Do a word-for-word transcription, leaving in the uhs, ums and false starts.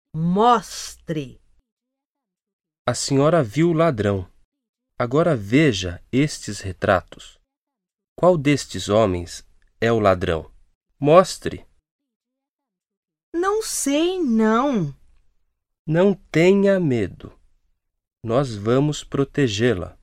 Mostre. A senhora viu o ladrão. Agora veja estes retratos. Qual destes homens é o ladrão? Mostre. Não sei, não. Não tenha medo. Nós vamos protegê-la.